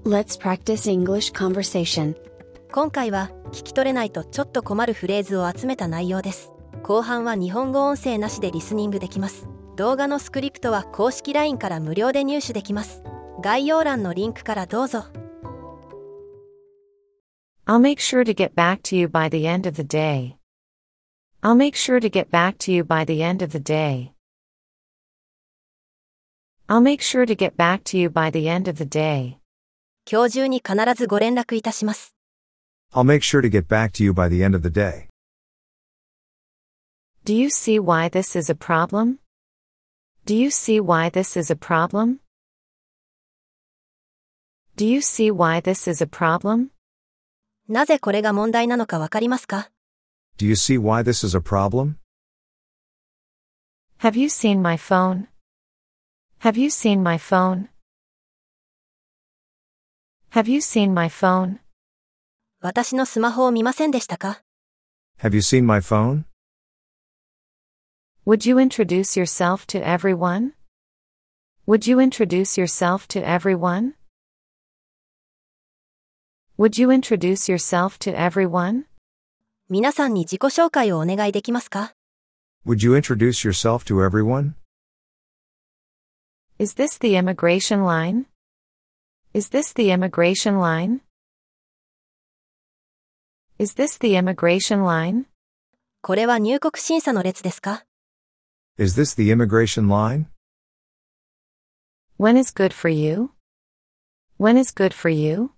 Let's practice English conversation. 今回は聞き取れないとちょっと困るフレーズを集めた内容です。後半は日本語音声なしでリスニングできます。動画のスクリプトは公式 LINE から無料で入手できます。概要欄のリンクからどうぞ。 I'll make sure to get back to you by the end of the day. I'll make sure to get back to you by the end of the day. I'll make sure to get back to you by the end of the day. 今日中に必ずご連絡いたします。 I'll make sure to get back to you by the end of the day. Do you see why this is a problem? Do you see why this is a problem? Do you see why this is a problem? なぜこれが問題なのかわかりますか？ Do you see why this is a problem? Have you seen my phone? Have you seen my phone? Have you seen my phone? 私のスマホを見ませんでしたか？ Have you seen my phone? Would you introduce yourself to everyone? Would you introduce yourself to everyone? Would you introduce yourself to everyone? 皆さんに自己紹介をお願いできますか？ Would you introduce yourself to everyone? Is this the immigration line? Is this the immigration line? Is this the immigration line? これは入国審査の列ですか？ Is this the immigration line? When is good for you? When is good for you?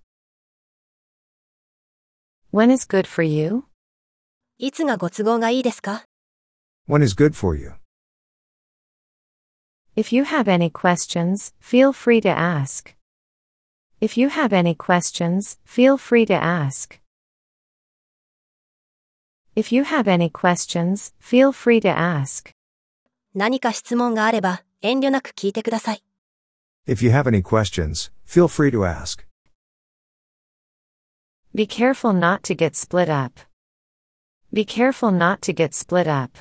When is good for you? いつがご都合がいいですか？ When is good for you? If you have any questions, feel free to ask. If you have any questions, feel free to ask. If you have any questions, feel free to ask. 何か質問があれば遠慮なく聞いてください。 If you have any questions, feel free to ask. Be careful not to get split up. Be careful not to get split up.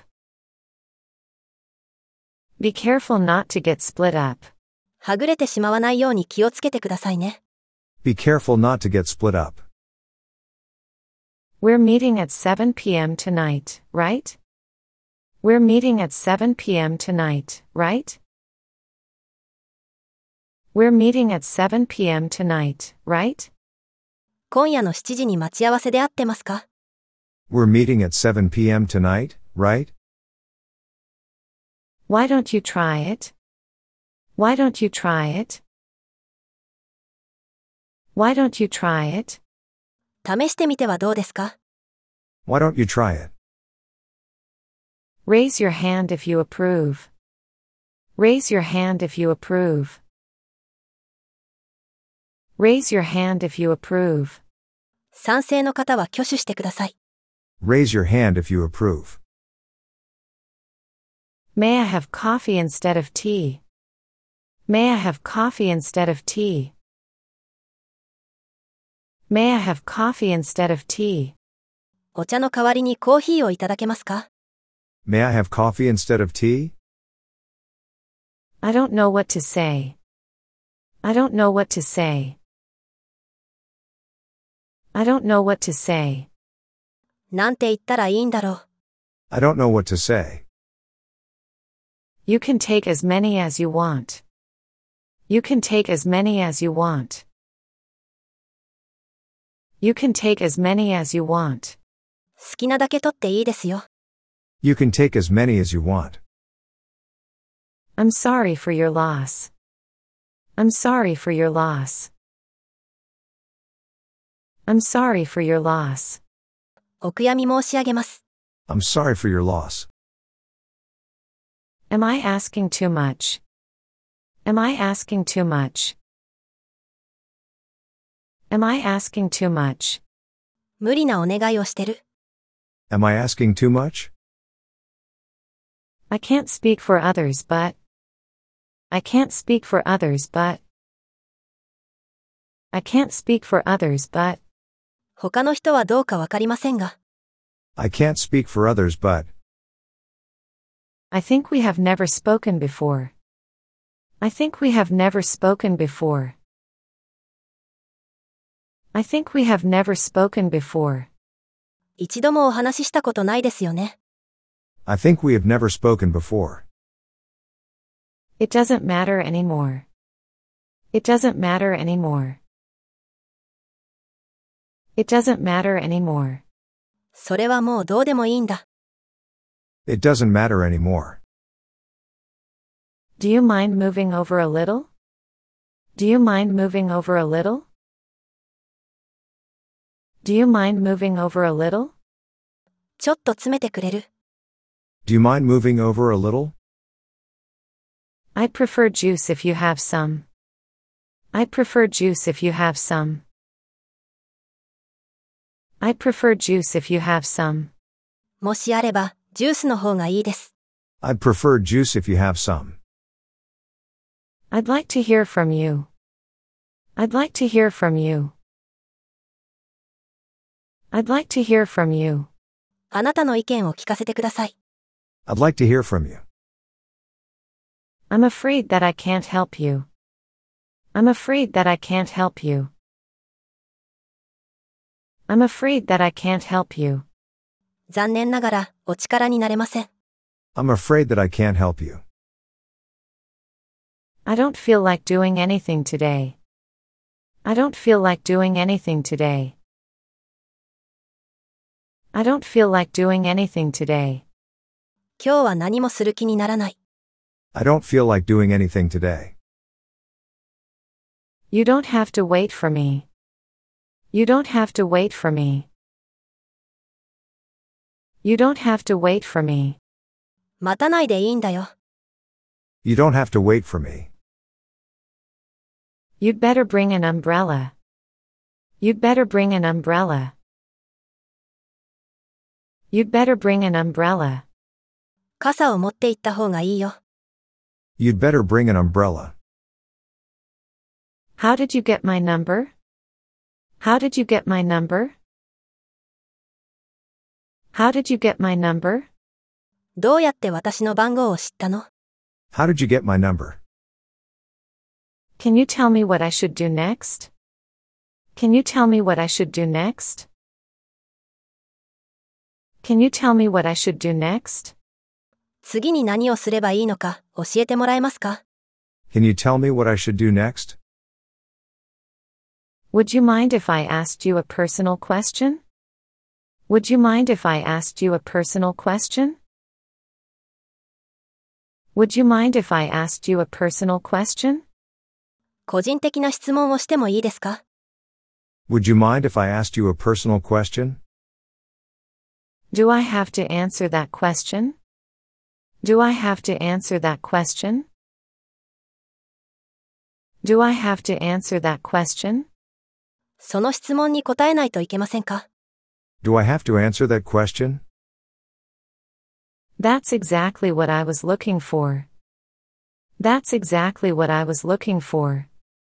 Be careful not to get split up. はぐれてしまわないように気をつけてくださいね。 Be careful not to get split up. We're meeting at 7 p.m. tonight, right? We're meeting at 7 p.m. tonight, right? We're meeting at 7 p.m. tonight, right? 今夜の7時に待ち合わせで合ってますか？ We're meeting at 7 p.m. tonight, right? Why don't you try it? Why don't you try it? Why don't you try it? 試してみてはどうですか？ Why don't you try it? Raise your hand if you approve. Raise your hand if you approve. Raise your hand if you approve. 賛成の方は挙手してください。 Raise your hand if you approve. May I have coffee instead of tea? May I have coffee instead of tea? May I have coffee instead of tea? お茶の代わりにコーヒーをいただけますか？ May I have coffee instead of tea? I don't know what to say. I don't know what to say. I don't know what to say. なんて言ったらいいんだろう。 I don't know what to say. You can take as many as you want. You can take as many as you want. You can take as many as you want. 好きなだけ取っていいですよ。 You can take as many as you want. I'm sorry for your loss. I'm sorry for your loss. I'm sorry for your loss. お悔やみ申し上げます。 I'm sorry for your loss. Am I asking too much? Am I asking too much? Am I asking too much? 無理なお願いをしてる。 Am I asking too much? I can't speak for others but. I can't speak for others but. I can't speak for others but. 他の人はどうかわかりませんが。 I can't speak for others but. I think we have never spoken before. I think we have never spoken before. I think we have never spoken before. 一度もお話ししたことないですよね。 I think we have never spoken before. It doesn't matter anymore. It doesn't matter anymore. It doesn't matter anymore. それはもうどうでもいいんだ。 It doesn't matter anymore. Do you mind moving over a little? Do you mind moving over a little? Do you mind moving over a little? ちょっと詰めてくれる。 Do you mind moving over a little? I'd prefer juice if you have some. I'd prefer juice if you have some. I'd prefer juice if you have some. もしあれば、ジュースの方がいいです。 I'd prefer juice if you have some. I'd like to hear from you. I'd like to hear from you. I'd like to hear from you. あなたの意見を聞かせてください。 I'd like to hear from you. I'm afraid that I can't help you. I'm afraid that I can't help you. I'm afraid that I can't help you. 残念ながら、お力になれません。 I'm afraid that I can't help you. I don't feel like doing anything today. I don't feel like doing anything today. I don't feel like doing anything today. 今日は何もする気にならない。 I don't feel like doing anything today. You don't have to wait for me. You don't have to wait for me. You don't have to wait for me. 待たないでいいんだよ。 You don't have to wait for me. You'd better bring an umbrella. You'd better bring an umbrella. You'd better bring an umbrella. 傘を持って行った方がいいよ。 You'd better bring an umbrella. How did you get my number? How did you get my number? How did you get my number? どうやって私の番号を知ったの？ How did you get my number? Can you tell me what I should do next? Can you tell me what I should do next? Can you tell me what I should do next? 次に何をすればいいのか教えてもらえますか？ Can you tell me what I should do next? Would you mind if I asked you a personal question? Would you mind if I asked you a personal question? Would you mind if I asked you a personal question? 個人的な質問をしてもいいですか？ Would you mind if I asked you a personal question? Do I have to answer that question? Do I have to answer that question? Do I have to answer that question? その質問に答えないといけませんか？ Do I have to answer that question? That's exactly what I was looking for. That's exactly what I was looking for.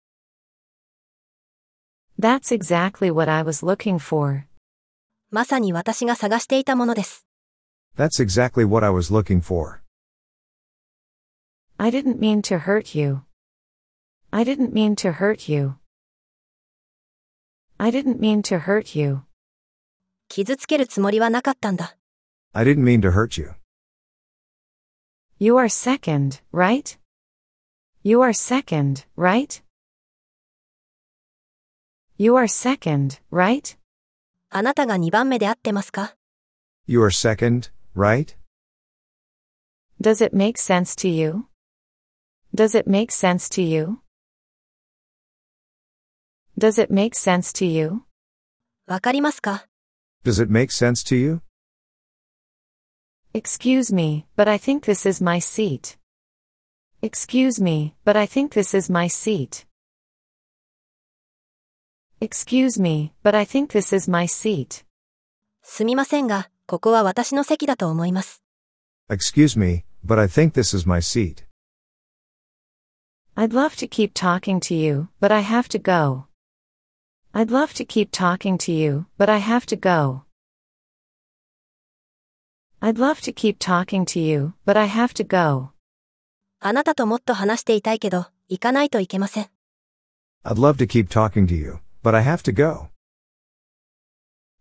That's exactly what I was looking for. まさに私が探していたものです。 That's exactly what I was looking for. I didn't mean to hurt you. I didn't mean to hurt you. I didn't mean to hurt you. 傷つけるつもりはなかったんだ。 I didn't mean to hurt you. You are second, right? You are second, right? You are second, right? あなたが2番目で合ってますか？ You are second, right? Does it make sense to you? Does it make sense to you? Does it make sense to you? わかりますか？ Does it make sense to you? Excuse me, but I think this is my seat. Excuse me, but I think this is my seat. Excuse me, but I think this is my seat. すみませんが、ここは私の席だと思います。 Excuse me, but I think this is my seat. I'd love to keep talking to you, but I have to go. I'd love to keep talking to you, but I have to go. I'd love to keep talking to you, but I have to go. あなたともっと話していたいけど、行かないといけません。 I'd love to keep talking to you, but I have to go.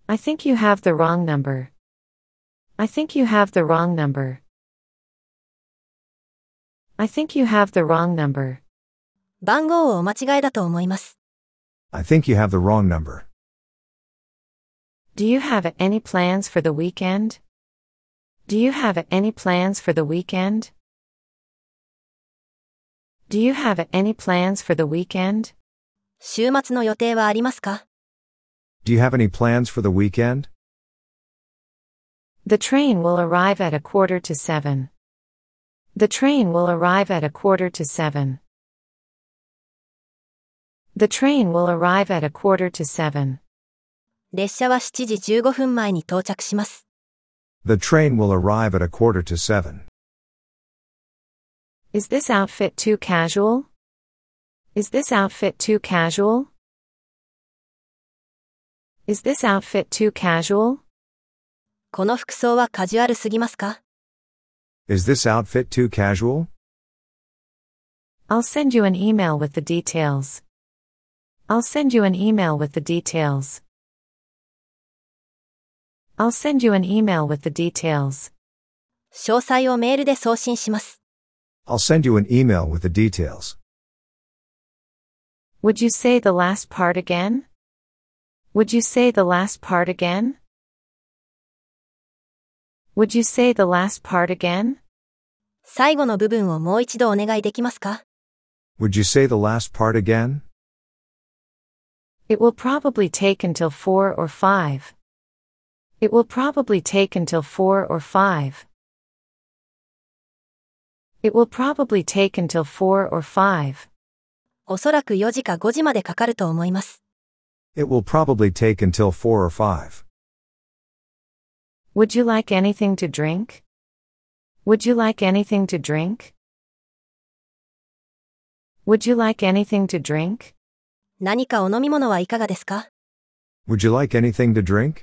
I think you have the wrong number. I think you have the wrong number. I think you have the wrong number. 番号をお間違いだと思います。 I think you have the wrong number. Do you have any plans for the weekend? Do you have any plans for the weekend? Do you have any plans for the weekend? 週末の予定はありますか？ Do you have any plans for the weekend? The train will arrive at 6:45. The train will arrive at 6:45. The train will arrive at 6:45. 列車は7時15分前に到着します。 The train will arrive at 6:45. Is this outfit too casual? Is this outfit too casual? Is this outfit too casual? この服装はカジュアルすぎますか？ Is this outfit too casual? I'll send you an email with the details. I'll send you an email with the details. I'll send you an email with the details. 詳細をメールで送信します。 I'll send you an email with the details. Would you say the last part again? Would you say the last part again? Would you say the last part again? 最後の部分をもう一度お願いできますか？ Would you say the last part again? It will probably take until 4 or 5. It will probably take until 4 or 5. It will probably take until 4 or 5. おそらく4時か5時までかかると思います。 It will probably take until 4 or 5. Would you like anything to drink? Would you like anything to drink? Would you like anything to drink? 何かお飲み物はいかがですか？ Would you like anything to drink?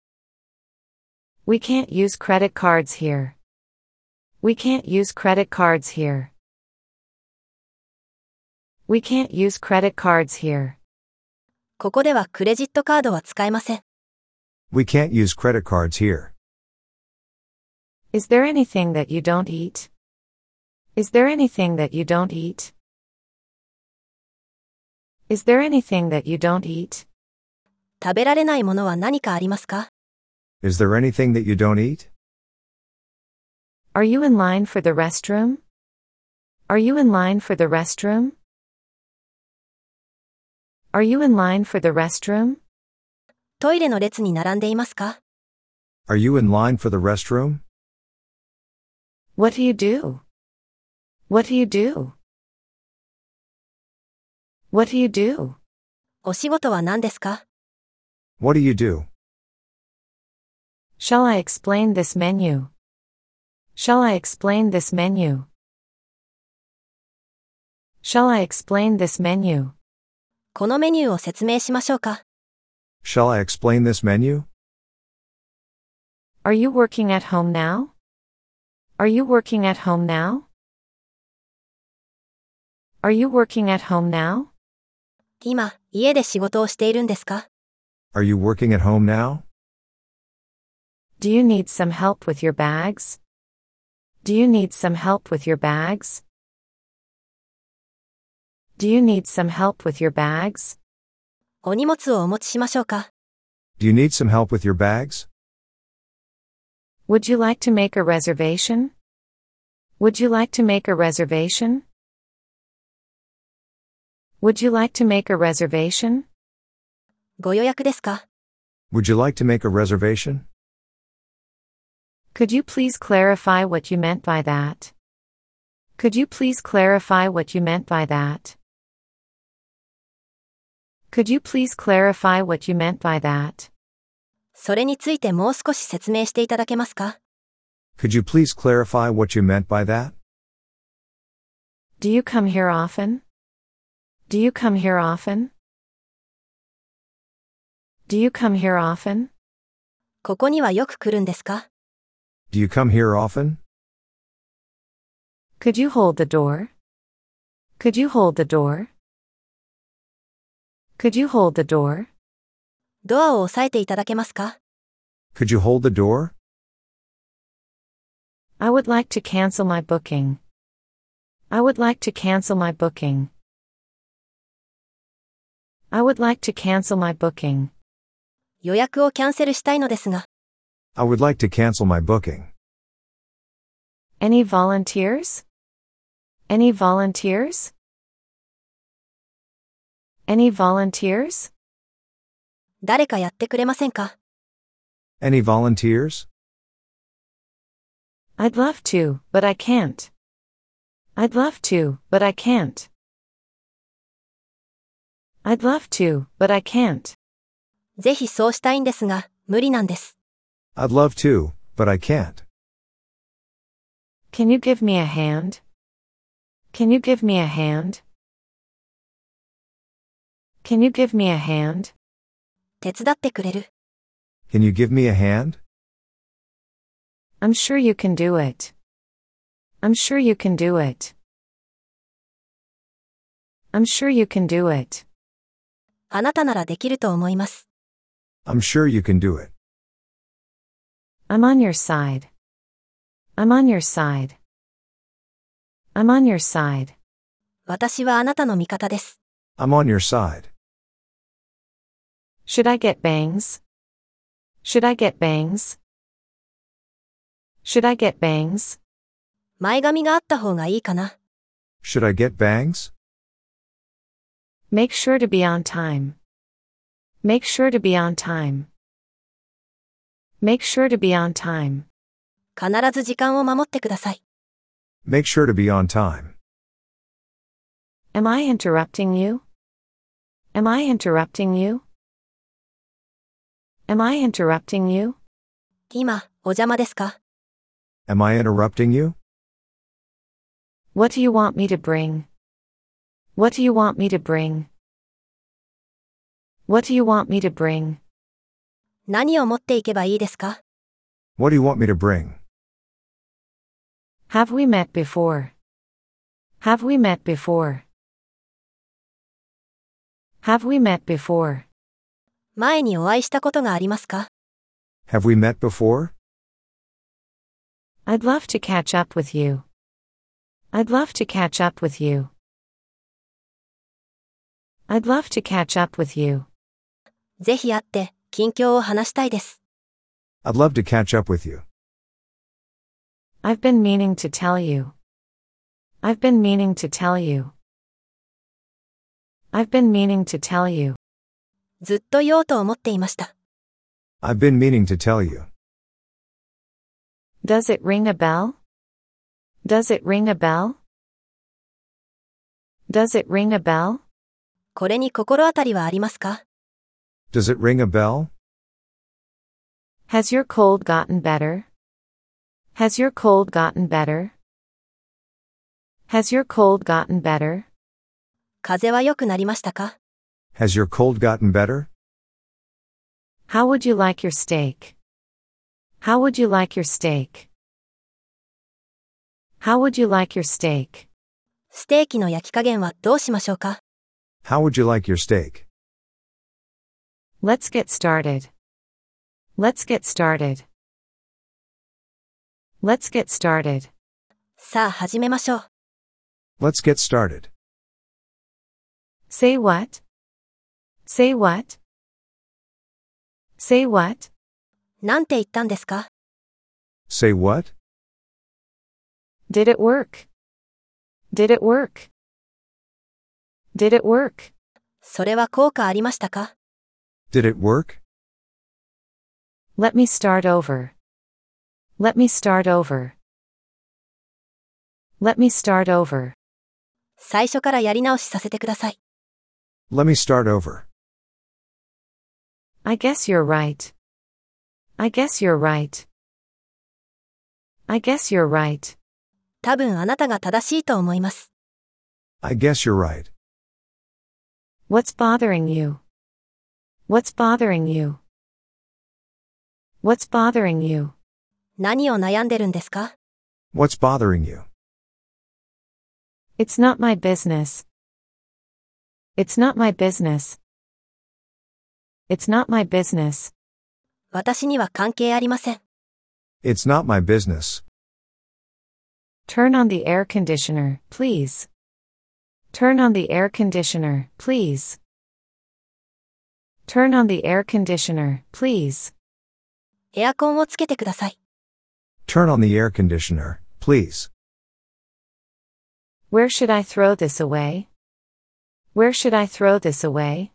We can't use credit cards here. We can't use credit cards here. We can't use credit cards here. ここではクレジットカードは使えません。 We can't use credit cards here. Is there anything that you don't eat? Is there anything that you don't eat? Is there anything that you don't eat? 食べられないものは何かありますか？ Is there anything that you don't eat? Are you in line for the restroom? Are you in line for the restroom? Are you in line for the restroom? トイレの列に並んでいますか？ Are you in line for the restroom? What do you do? What do you do? What do you do? お仕事は何ですか？ What do you do? Shall I explain this menu? Shall I explain this menu? Shall I explain this menu? このメニューを説明しましょうか？ Shall I explain this menu? Are you working at home now? Are you working at home now? Are you working at home now? 今、家で仕事をしているんですか？ Are you working at home now? Do you need some help with your bags? Do you need some help with your bags? Do you need some help with your bags? お荷物をお持ちしましょうか？ Do you need some help with your bags? Would you like to make a reservation? Would you like to make a reservation? Would you like to make a reservation? ご予約ですか？ Would you like to make a reservation? Could you please clarify what you meant by that? Could you please clarify what you meant by that? Could you please clarify what you meant by that? それについてもう少し説明していただけますか？ Could you please clarify what you meant by that? Do you come here often? Do you come here often? Do you come here often? ここにはよく来るんですか？ Do you come here often? Could you hold the door? Could you hold the door? Could you hold the door? ドアを押さえていただけますか？ Could you hold the door? I would like to cancel my booking. I would like to cancel my booking. I would like to cancel my booking. 予約をキャンセルしたいのですが。 I would like to cancel my booking. Any volunteers? Any volunteers? Any volunteers? 誰かやってくれませんか？ Any volunteers? I'd love to, but I can't. I'd love to, but I can't. I'd love to, but I can't. ぜひそうしたいんですが、無理なんです。 I'd love to, but I can't. Can you give me a hand? Can you give me a hand? Can you give me a hand? 手伝ってくれる？ Can you give me a hand? I'm sure you can do it. I'm sure you can do it. I'm sure you can do it. あなたならできると思います。 I'm sure you can do it. I'm on your side. I'm on your side. I'm on your side. 私はあなたの味方です。 I'm on your side. Should I get bangs? Should I get bangs? Should I get bangs? 前髪があった方がいいかな。 Should I get bangs? Make sure to be on time. Make sure to be on time. Make sure to be on time. 必ず時間を守ってください。 Make sure to be on time. Am I interrupting you? Am I interrupting you? Am I interrupting you? 今、お邪魔ですか？ Am I interrupting you? What do you want me to bring? What do you want me to bring? What do you want me to bring? 何を持っていけばいいですか？ What do you want me to bring? Have we met before? Have we met before? Have we met before? 前にお会いしたことがありますか？ Have we met before? I'd love to catch up with you. I'd love to catch up with you. I'd love to catch up with you. ぜひ会って、近況を話したいです。 I'd love to catch up with you. I've been meaning to tell you. I've been meaning to tell you. I've been meaning to tell you. ずっと言おうと思っていました。 I've been meaning to tell you. Does it ring a bell? Does it ring a bell? Does it ring a bell? これに心当たりはありますか？ Does it ring a bell? Has your cold gotten better? Has your cold gotten better? Has your cold gotten better? 風邪は良くなりましたか？ Has your cold gotten better? How would you like your steak? How would you like your steak? How would you like your steak? ステーキの焼き加減はどうしましょうか？ How would you like your steak? Let's get started. Let's get started. Let's get started. さあ始めましょう。 Let's get started. Say what? Say what? Say what? なんて言ったんですか？ Say what? Did it work? Did it work? Did it work? それは効果ありましたか？ Did it work? Let me start over. Let me start over. Let me start over. 最初からやり直しさせてください。 Let me start over. I guess you're right. I guess you're right. I guess you're right. 多分あなたが正しいと思います。 I guess you're right. What's bothering you? What's bothering you? What's bothering you? 何を悩んでるんですか？ What's bothering you? It's not my business. It's not my business. It's not my business. 私には関係ありません。 It's not my business. Turn on the air conditioner, please. Turn on the air conditioner, please. Turn on the air conditioner, please. エアコンをつけてください。 Turn on the air conditioner, please. Where should I throw this away? Where should I throw this away?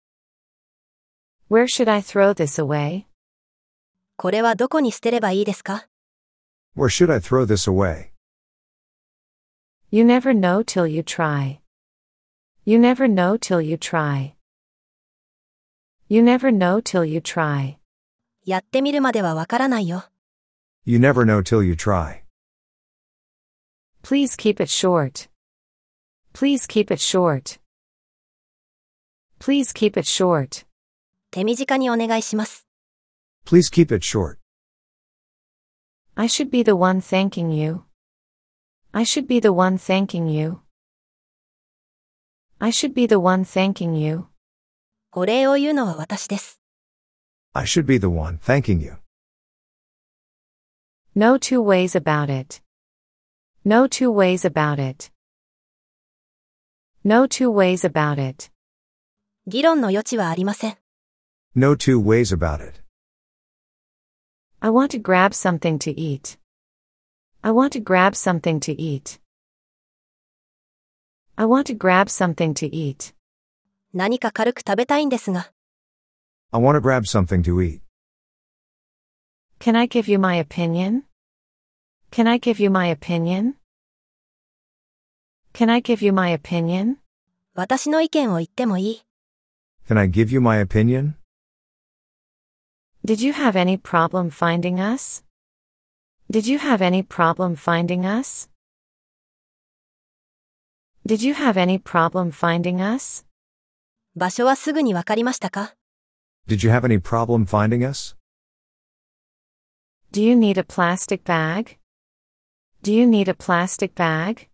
Where should I throw this away? これはどこに捨てればいいですか？ Where should I throw this away? You never know till you try. You never know till you try. You never know till you try. やってみるまではわからないよ。 You never know till you try. Please keep it short. Please keep it short. Please keep it short. 手短にお願いします。 Please keep it short. I should be the one thanking you. I should be the one thanking you. I should be the one thanking you. お礼を言うのは私です。 I should be the one thanking you. No two ways about it. No two ways about it. No two ways about it. 議論の余地はありません。 No two ways about it. I want to grab something to eat. I want to grab something to eat. I want to grab something to eat. 何か軽く食べたいんですが。 I want to grab something to eat. Can I give you my opinion? Can I give you my opinion? Can I give you my opinion? 私の意見を言ってもいい？ Can I give you my opinion? Did you have any problem finding us? Did you have any problem finding us? Did you have any problem finding us? 場所はすぐにわかりましたか？ Did you have any problem finding us? Do you need a plastic bag? Do you need a plastic bag?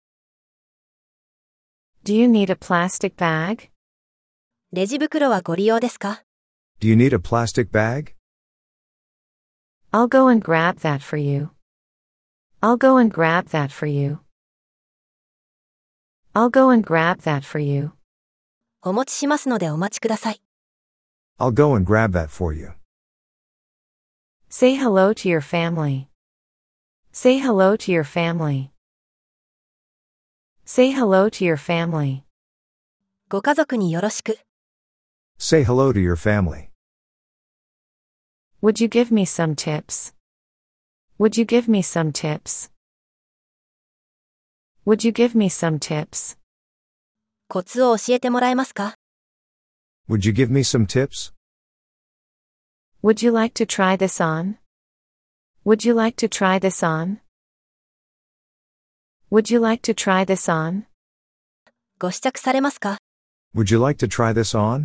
Do you need a plastic bag? レジ袋はご利用ですか？ Do you need a plastic bag? I'll go and grab that for you. I'll go and grab that for you. I'll go and grab that for you. お持ちしますのでお待ちください。 I'll go and grab that for you. Say hello to your family. Say hello to your family. Say hello to your family. ご家族によろしく。 Say hello to your family. Would you give me some tips? Would you give me some tips? Would you give me some tips? コツを教えてもらえますか？ Would you give me some tips? Would you like to try this on? Would you like to try this on? Would you like to try this on? ご試着されますか？ Would you like to try this on?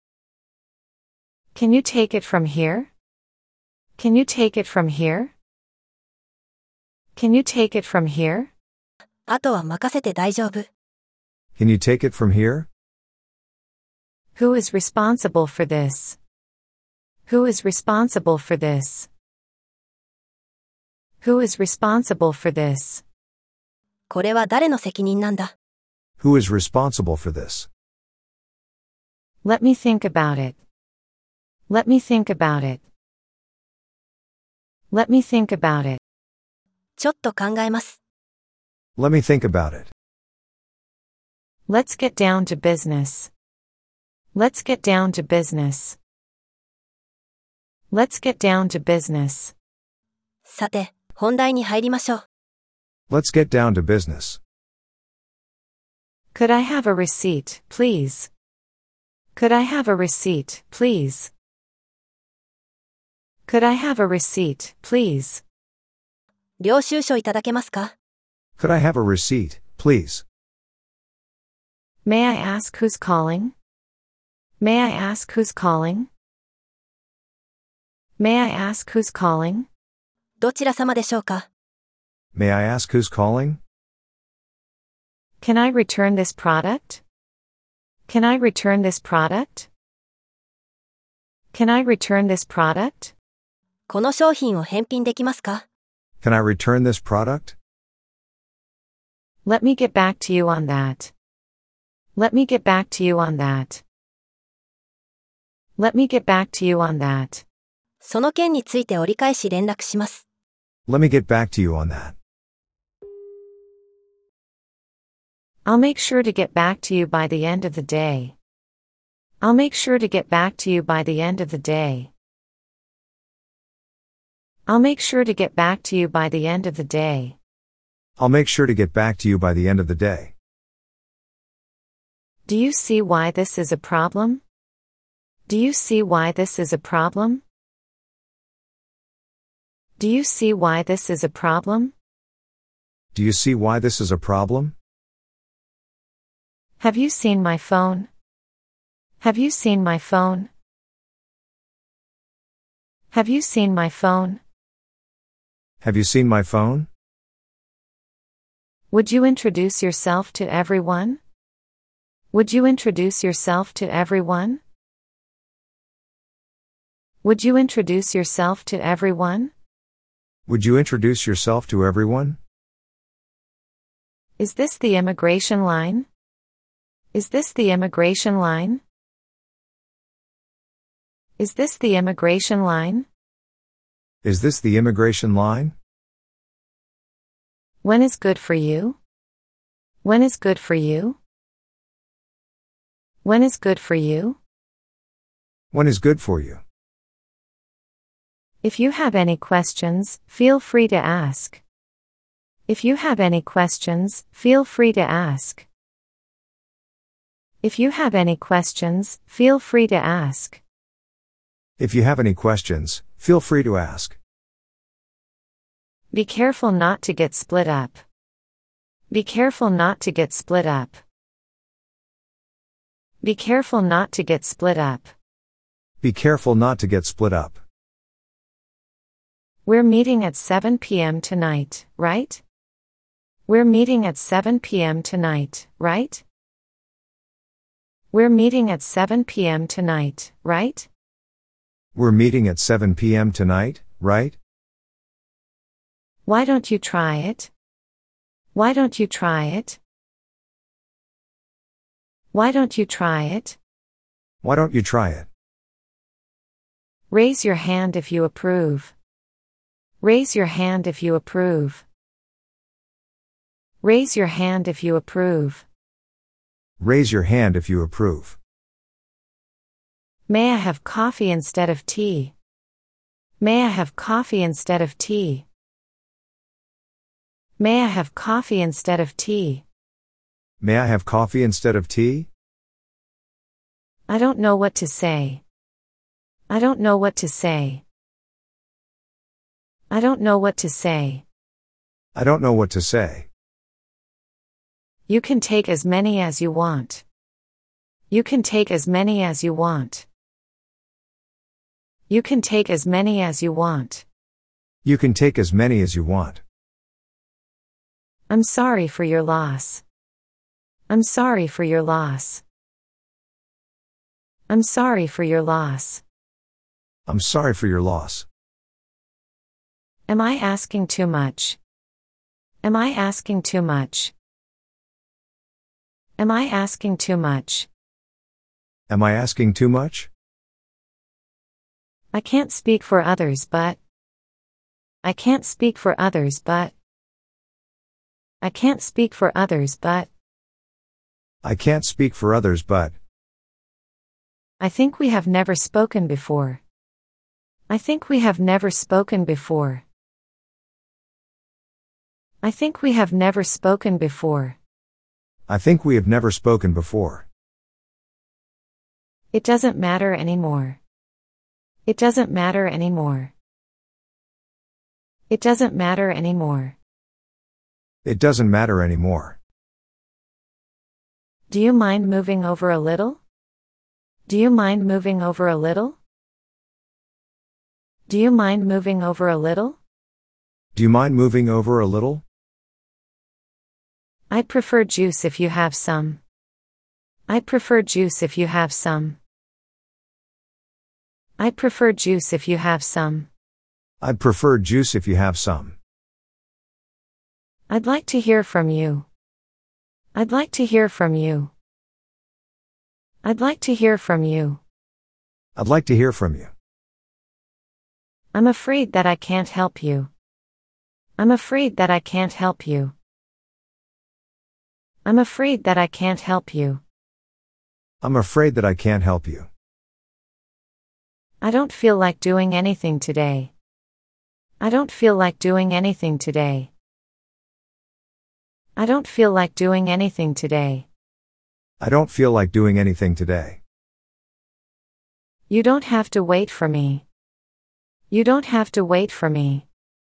Can you take it from here? Can you take it from here? Can you take it from here? あとは任せて大丈夫。 Can you take it from here? Who is responsible for this? Who is responsible for this? Who is responsible for this? これは誰の責任なんだ？ Who is responsible for this? Let me think about it. Let me think about it. Let me think about it. ちょっと考えます。 Let me think about it. Let's get down to business. Let's get down to business. Let's get down to business. さて、本題に入りましょう。 Let's get down to business. Could I have a receipt, please? Could I have a receipt, please? Could I have a receipt, please? 領収書いただけますか？ Could I have a receipt, please? May I ask who's calling? May I ask who's calling? May I ask who's calling? どちら様でしょうか？ May I ask who's calling? Can I return this product? Can I return this product? Can I return this product? この商品を返品できますか？ Can I return this product? Let me get back to you on that. Let me get back to you on that. Let me get back to you on that. その件について折り返し連絡します。 Let me get back to you on that. I'll make sure to get back to you by the end of the day. I'll make sure to get back to you by the end of the day. I'll make sure to get back to you by the end of the day. I'll make sure to get back to you by the end of the day. Do you see why this is a problem? Do you see why this is a problem? Do you see why this is a problem? Do you see why this is a problem? Have you seen my phone? Have you seen my phone? Have you seen my phone? Have you seen my phone? Would you introduce yourself to everyone? Would you introduce yourself to everyone? Would you introduce yourself to everyone? Would you introduce yourself to everyone? Is this the immigration line? Is this the immigration line? Is this the immigration line? Is this the immigration line? When is good for you? When is good for you? When is good for you? When is good for you? If you have any questions, feel free to ask. If you have any questions, feel free to ask. If you have any questions, feel free to ask. If you have any questions, feel free to ask. Be careful not to get split up. Be careful not to get split up. Be careful not to get split up. Be careful not to get split up. We're meeting at 7 p.m. tonight, right? We're meeting at 7 p.m. tonight, right? We're meeting at 7 p.m. tonight, right? We're meeting at 7 p.m. tonight, right? Why don't you try it? Why don't you try it? Why don't you try it? Why don't you try it? Raise your hand if you approve. Raise your hand if you approve. Raise your hand if you approve. Raise your hand if you approve. May I have coffee instead of tea? May I have coffee instead of tea? May I have coffee instead of tea? May I have coffee instead of tea? I don't know what to say. I don't know what to say. I don't know what to say. I don't know what to say. You can take as many as you want. You can take as many as you want. You can take as many as you want. You can take as many as you want. I'm sorry for your loss. I'm sorry for your loss. I'm sorry for your loss. I'm sorry for your loss. Am I asking too much? Am I asking too much? Am I asking too much? Am I asking too much? I can't speak for others but. I can't speak for others but. I can't speak for others but. I can't speak for others but. I think we have never spoken before. I think we have never spoken before. I think we have never spoken before. I think we have never spoken before. It doesn't matter anymore. It doesn't matter anymore. It doesn't matter anymore. It doesn't matter anymore. Do you mind moving over a little? Do you mind moving over a little? Do you mind moving over a little? Do you mind moving over a little? I'd prefer juice if you have some. I'd prefer juice if you have some. I'd prefer juice if you have some. I'd prefer juice if you have some. I'd like to hear from you. I'd like to hear from you. I'd like to hear from you. I'd like to hear from you. I'm afraid that I can't help you. I'm afraid that I can't help you. I'm afraid that I can't help you. I'm afraid that I can't help you. I don't feel like doing anything today. I don't feel like doing anything today. I don't feel like doing anything today. I don't feel like doing anything today. You don't have to wait for me. You don't have to wait for me.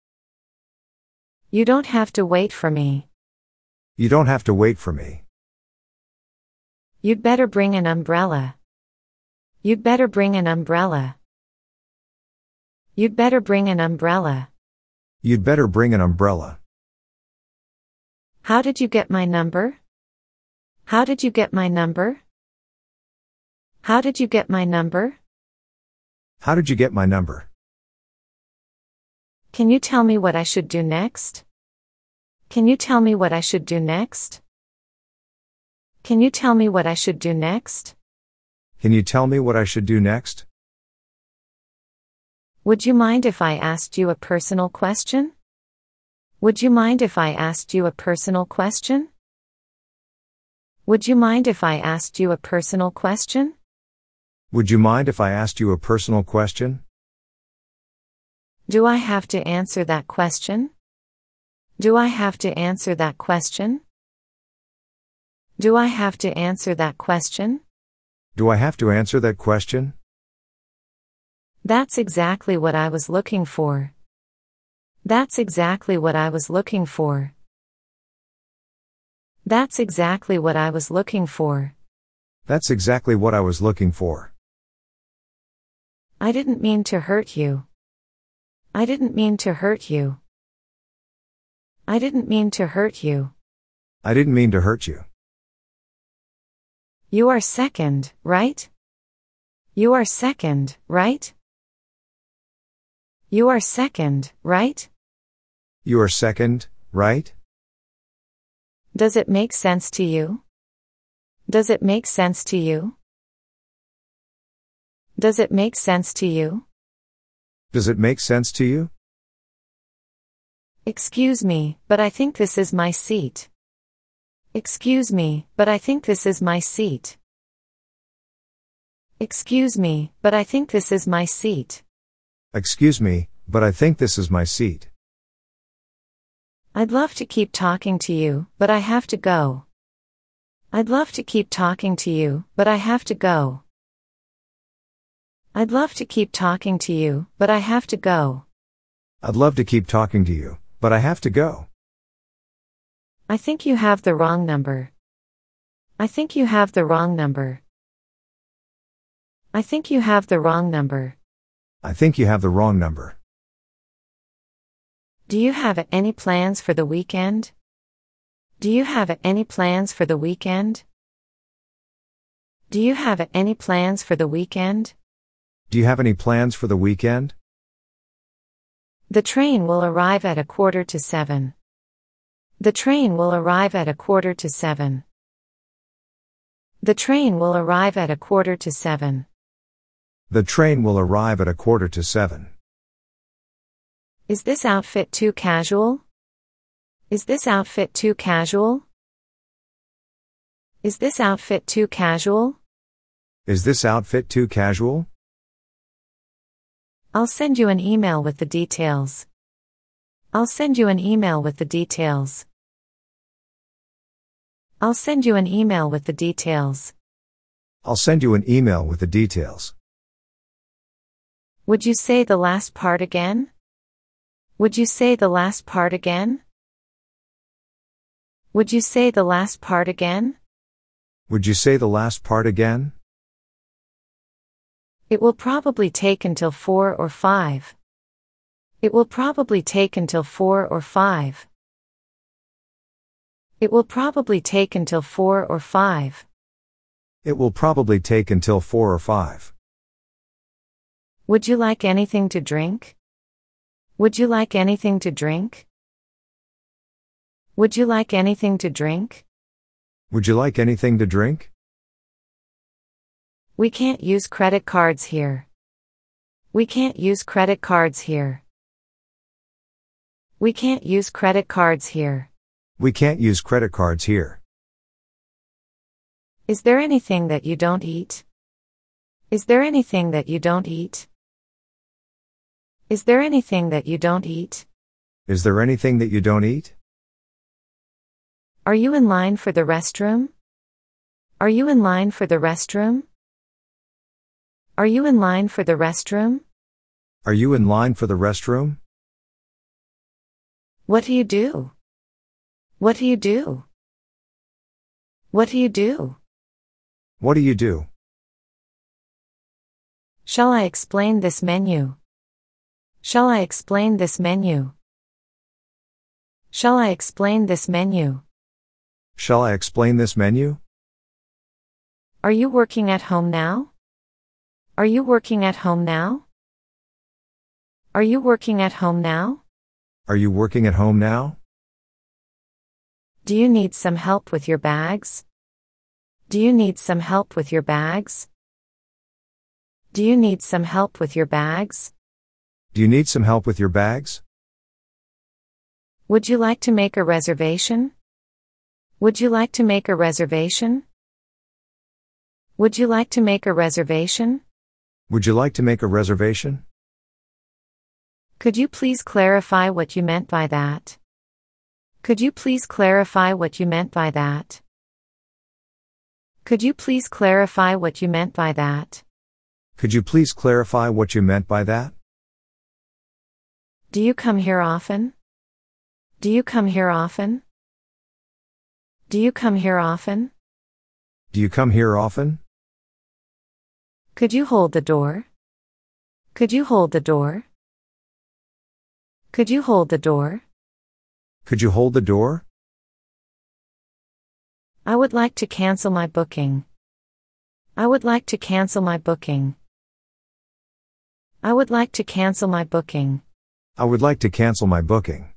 You don't have to wait for me. You don't have to wait for me. You'd better bring an umbrella. You'd better bring an umbrella. You'd better bring an umbrella. You'd better bring an umbrella. How did you get my number? How did you get my number? How did you get my number? How did you get my number? Can you tell me what I should do next? Can you tell me what I should do next? Can you tell me what I should do next? Can you tell me what I should do next? Would you mind if I asked you a personal question? Would you mind if I asked you a personal question? Would you mind if I asked you a personal question? Would you mind if I asked you a personal question? Do I have to answer that question? Do I have to answer that question? Do I have to answer that question? Do I have to answer that question? That's exactly what I was looking for. That's exactly what I was looking for. That's exactly what I was looking for. That's exactly what I was looking for. I didn't mean to hurt you. I didn't mean to hurt you. I didn't mean to hurt you. I didn't mean to hurt you. You are second, right? You are second, right? You are second, right? You are second, right? Does it make sense to you? Does it make sense to you? Does it make sense to you? Does it make sense to you? Excuse me, but I think this is my seat. Excuse me, but I think this is my seat. Excuse me, but I think this is my seat. Excuse me, but I think this is my seat. I'd love to keep talking to you, but I have to go. I'd love to keep talking to you, but I have to go. I'd love to keep talking to you, but I have to go. I'd love to keep talking to you, but I have to go. I think you have the wrong number. I think you have the wrong number. I think you have the wrong number. I think you have the wrong number. Do you have any plans for the weekend? Do you have any plans for the weekend? Do you have any plans for the weekend? Do you have any plans for the weekend? The train will arrive at 6:45. The train will arrive at 6:45. The train will arrive at 6:45. The train will arrive at 6:45. Is this outfit too casual? Is this outfit too casual? Is this outfit too casual? Is this outfit too casual? I'll send you an email with the details. I'll send you an email with the details. I'll send you an email with the details. I'll send you an email with the details. Would you say the last part again? Would you say the last part again? Would you say the last part again? Would you say the last part again? It will probably take until 4 or 5. It will probably take until 4 or 5. It will probably take until 4 or 5. It will probably take until 4 or 5. Would you like anything to drink? Would you like anything to drink? Would you like anything to drink? Would you like anything to drink? We can't use credit cards here. We can't use credit cards here. We can't use credit cards here. We can't use credit cards here. Is there anything that you don't eat? Is there anything that you don't eat? Is there anything that you don't eat? Is there anything that you don't eat? Are you in line for the restroom? Are you in line for the restroom? Are you in line for the restroom? Are you in line for the restroom? What do you do? What do you do? What do you do? What do you do? Shall I explain this menu? Shall I explain this menu? Shall I explain this menu? Shall I explain this menu? Are you working at home now? Are you working at home now? Are you working at home now? Are you working at home now? Do you need some help with your bags? Do you need some help with your bags? Do you need some help with your bags? Do you need some help with your bags? Would you like to make a reservation? Would you like to make a reservation? Would you like to make a reservation? Would you like to make a reservation? Could you please clarify what you meant by that? Could you please clarify what you meant by that? Could you please clarify what you meant by that? Could you please clarify what you meant by that? Do you come here often? Do you come here often? Do you come here often? Do you come here often? Could you hold the door? Could you hold the door? Could you hold the door? Could you hold the door? I would like to cancel my booking. I would like to cancel my booking. I would like to cancel my booking. I would like to cancel my booking.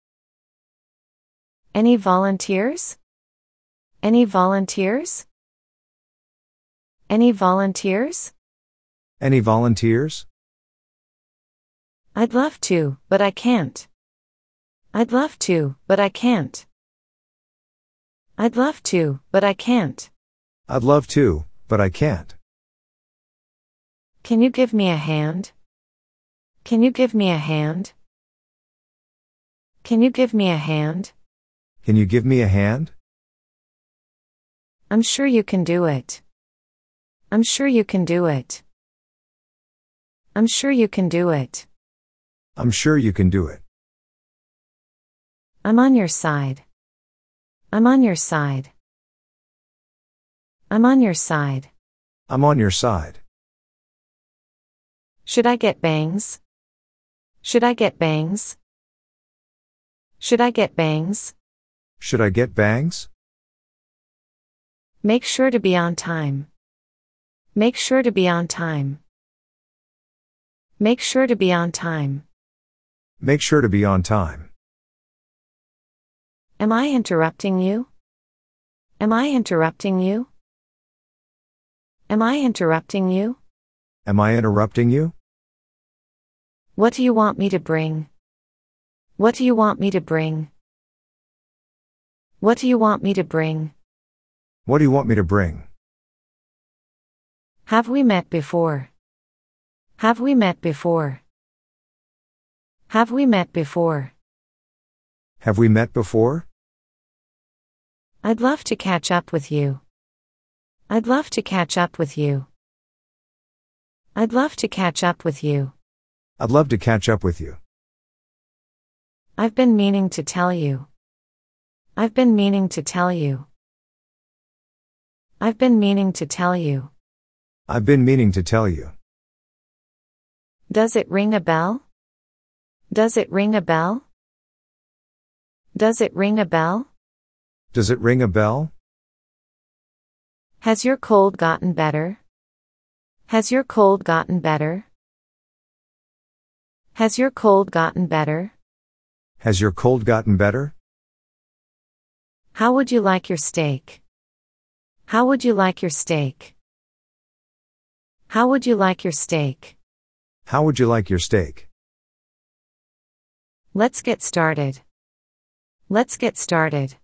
Any volunteers? Any volunteers? Any volunteers? Any volunteers? I'd love to, but I can't. I'd love to, but I can't. I'd love to, but I can't. I'd love to, but I can't. Can you give me a hand? Can you give me a hand? Can you give me a hand? Can you give me a hand? I'm sure you can do it. I'm sure you can do it. I'm sure you can do it. I'm sure you can do it. I'm on your side. I'm on your side. I'm on your side. I'm on your side. Should I get bangs? Should I get bangs? Should I get bangs? Should I get bangs? Make sure to be on time. Make sure to be on time. Make sure to be on time. Make sure to be on time. Am I interrupting you? Am I interrupting you? Am I interrupting you? Am I interrupting you? What do you want me to bring? What do you want me to bring? What do you want me to bring? What do you want me to bring? Have we met before? Have we met before? Have we met before? Have we met before? I'd love to catch up with you. I'd love to catch up with you. I'd love to catch up with you. I'd love to catch up with you. I've been meaning to tell you. I've been meaning to tell you. I've been meaning to tell you. I've been meaning to tell you. Does it ring a bell? Does it ring a bell? Does it ring a bell? Does it ring a bell? Has your cold gotten better? Has your cold gotten better? Has your cold gotten better? Has your cold gotten better? How would you like your steak? How would you like your steak? How would you like your steak? How would you like your steak? Let's get started. Let's get started.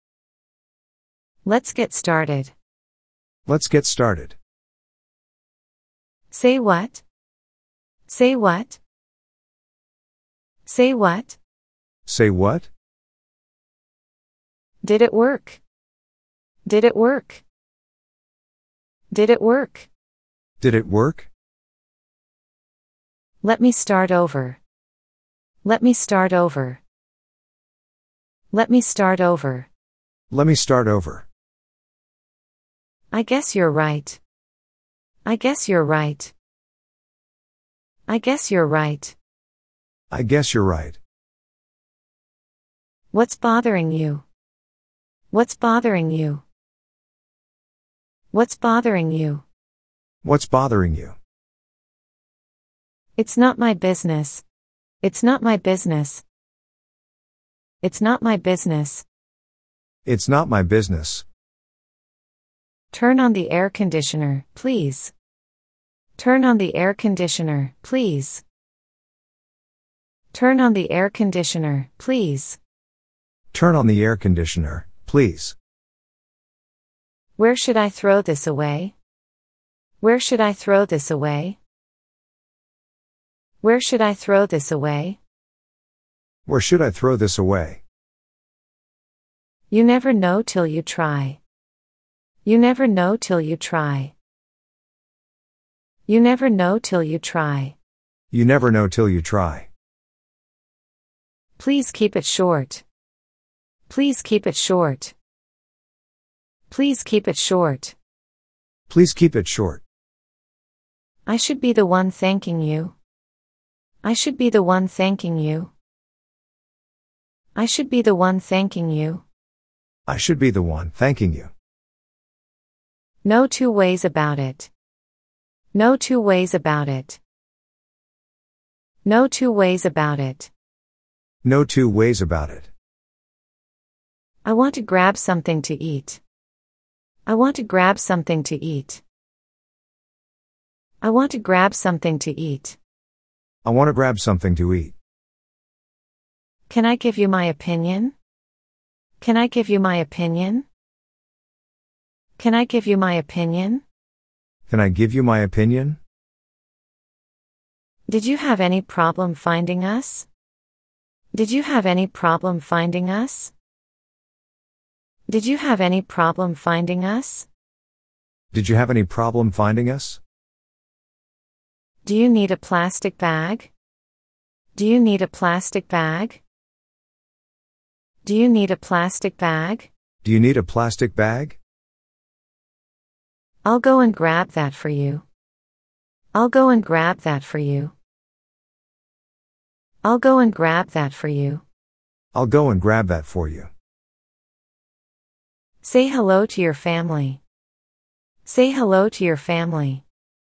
Let's get started. Let's get started. Say what? Say what? Say what? Say what? Did it work? Did it work? Did it work? Did it work? Let me start over. Let me start over. Let me start over. Let me start over. I guess you're right. I guess you're right. I guess you're right. I guess you're right. What's bothering you? What's bothering you? What's bothering you? What's bothering you? It's not my business. It's not my business. It's not my business. It's not my business. Turn on the air conditioner, please. Turn on the air conditioner, please. Turn on the air conditioner, please. Turn on the air conditioner, please. Where should I throw this away? Where should I throw this away? Where should I throw this away? Where should I throw this away? You never know till you try. You never know till you try. You never know till you try. You never know till you try. Please keep it short. Please keep it short. Please keep it short. Please keep it short. I should be the one thanking you. I should be the one thanking you. I should be the one thanking you. I should be the one thanking you. No two ways about it. No two ways about it. No two ways about it. No two ways about it. I want to grab something to eat. I want to grab something to eat. I want to grab something to eat. I want to grab something to eat. Can I give you my opinion? Can I give you my opinion? Can I give you my opinion? Can I give you my opinion? Did you have any problem finding us? Did you have any problem finding us? Did you have any problem finding us? Did you have any problem finding us? Do you need a plastic bag? Do you need a plastic bag? Do you need a plastic bag? Do you need a plastic bag? I'll go and grab that for you. I'll go and grab that for you. I'll go and grab that for you. I'll go and grab that for you. Say hello to your family. Say hello to your family.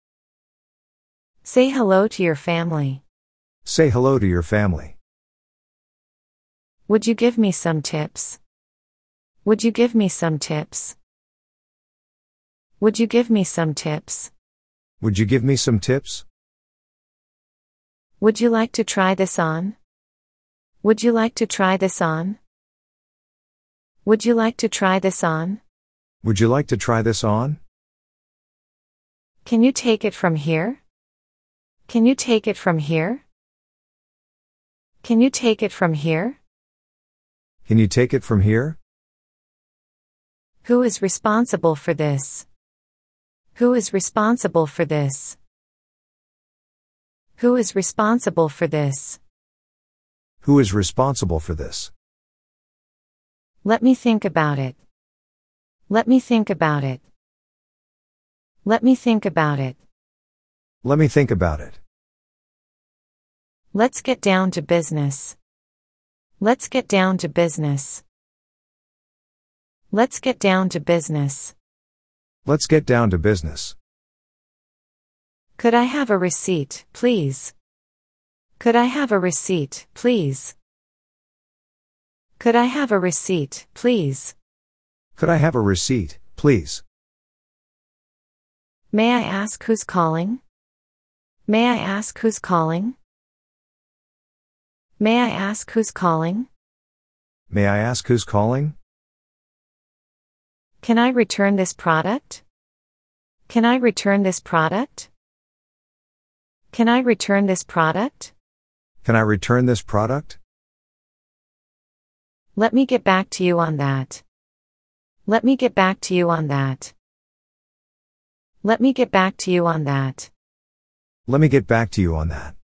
Say hello to your family. Say hello to your family. Would you give me some tips? Would you give me some tips? Would you give me some tips? Would you give me some tips? Would you like to try this on? Would you like to try this on? Would you like to try this on? Would you like to try this on? Can you take it from here? Can you take it from here? Can you take it from here? Can you take it from here? Who is responsible for this? Who is responsible for this? Who is responsible for this? Who is responsible for this? Let me think about it. Let me think about it. Let me think about it. Let me think about it. Let's get down to business. Let's get down to business. Let's get down to business. Let's get down to business. Could I have a receipt, please? Could I have a receipt, please? Could I have a receipt, please? Could I have a receipt, please? May I ask who's calling? May I ask who's calling? May I ask who's calling? May I ask who's calling? Can I return this product? Can I return this product? Can I return this product? Can I return this product? Let me get back to you on that. Let me get back to you on that. Let me get back to you on that. Let me get back to you on that.